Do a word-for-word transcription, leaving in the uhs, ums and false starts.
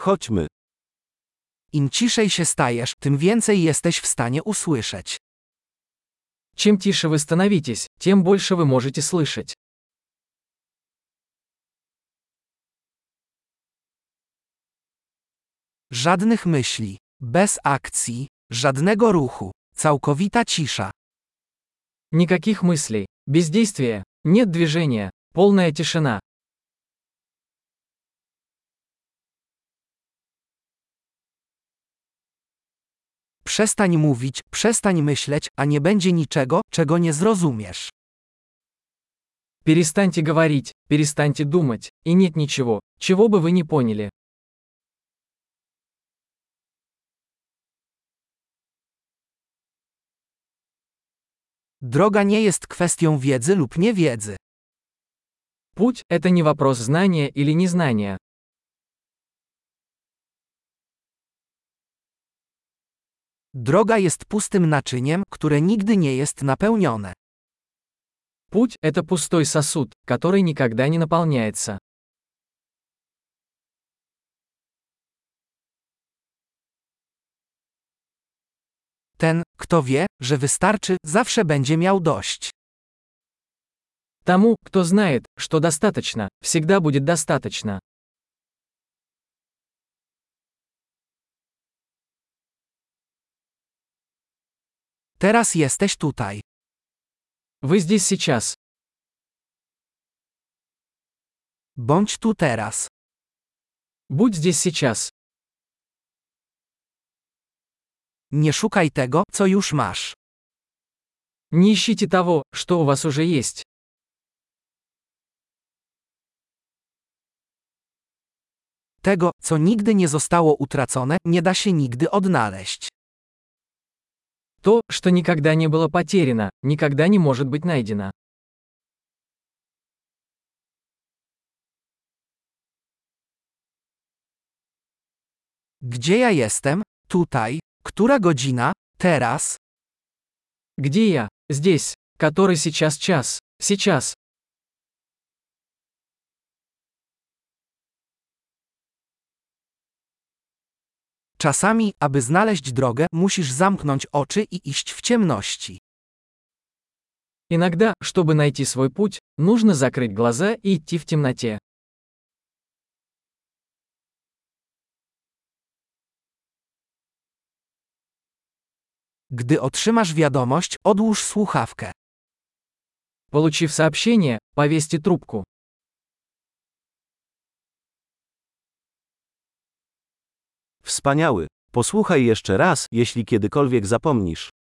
Chodźmy. Im ciszej się stajesz, tym więcej jesteś w stanie usłyszeć. Чем тише вы становитесь, тем больше вы можете слышать. Żadnych myśli, bez akcji, żadnego ruchu, całkowita cisza. Никаких мыслей, бездействия, нет движения, полная тишина. Przestań mówić, przestań myśleć, a nie będzie niczego, czego nie zrozumiesz. Перестаньте говорить, перестаньте думать, и нет ничего, чего бы вы не поняли. Droga nie jest kwestią wiedzy lub niewiedzy. Путь – это не вопрос знания или незнания. Droga jest pustym naczyniem, które nigdy nie jest napełnione. Путь – это пустой сосуд, который никогда не наполняется. Ten, kto wie, że wystarczy, zawsze będzie miał dość. Тому, кто знает, что достаточно, всегда будет достаточно. Teraz jesteś tutaj. Вы здесь сейчас. Bądź tu teraz. Будь здесь сейчас. Nie szukaj tego, co już masz. Не ищите того, что у вас уже есть. Tego, co nigdy nie zostało utracone, nie da się nigdy odnaleźć. То, что никогда не было потеряно, никогда не может быть найдено. Gdzie ja jestem? Tutaj. Która godzina? Teraz. Где я? Здесь. Который сейчас час? Сейчас. Czasami, aby znaleźć drogę, musisz zamknąć oczy i iść w ciemności. Иногда, чтобы найти свой путь, нужно закрыть глаза и идти в темноте. Gdy otrzymasz wiadomość, odłóż słuchawkę. Получив сообщение, повесьте трубку. Wspaniały. Posłuchaj jeszcze raz, jeśli kiedykolwiek zapomnisz.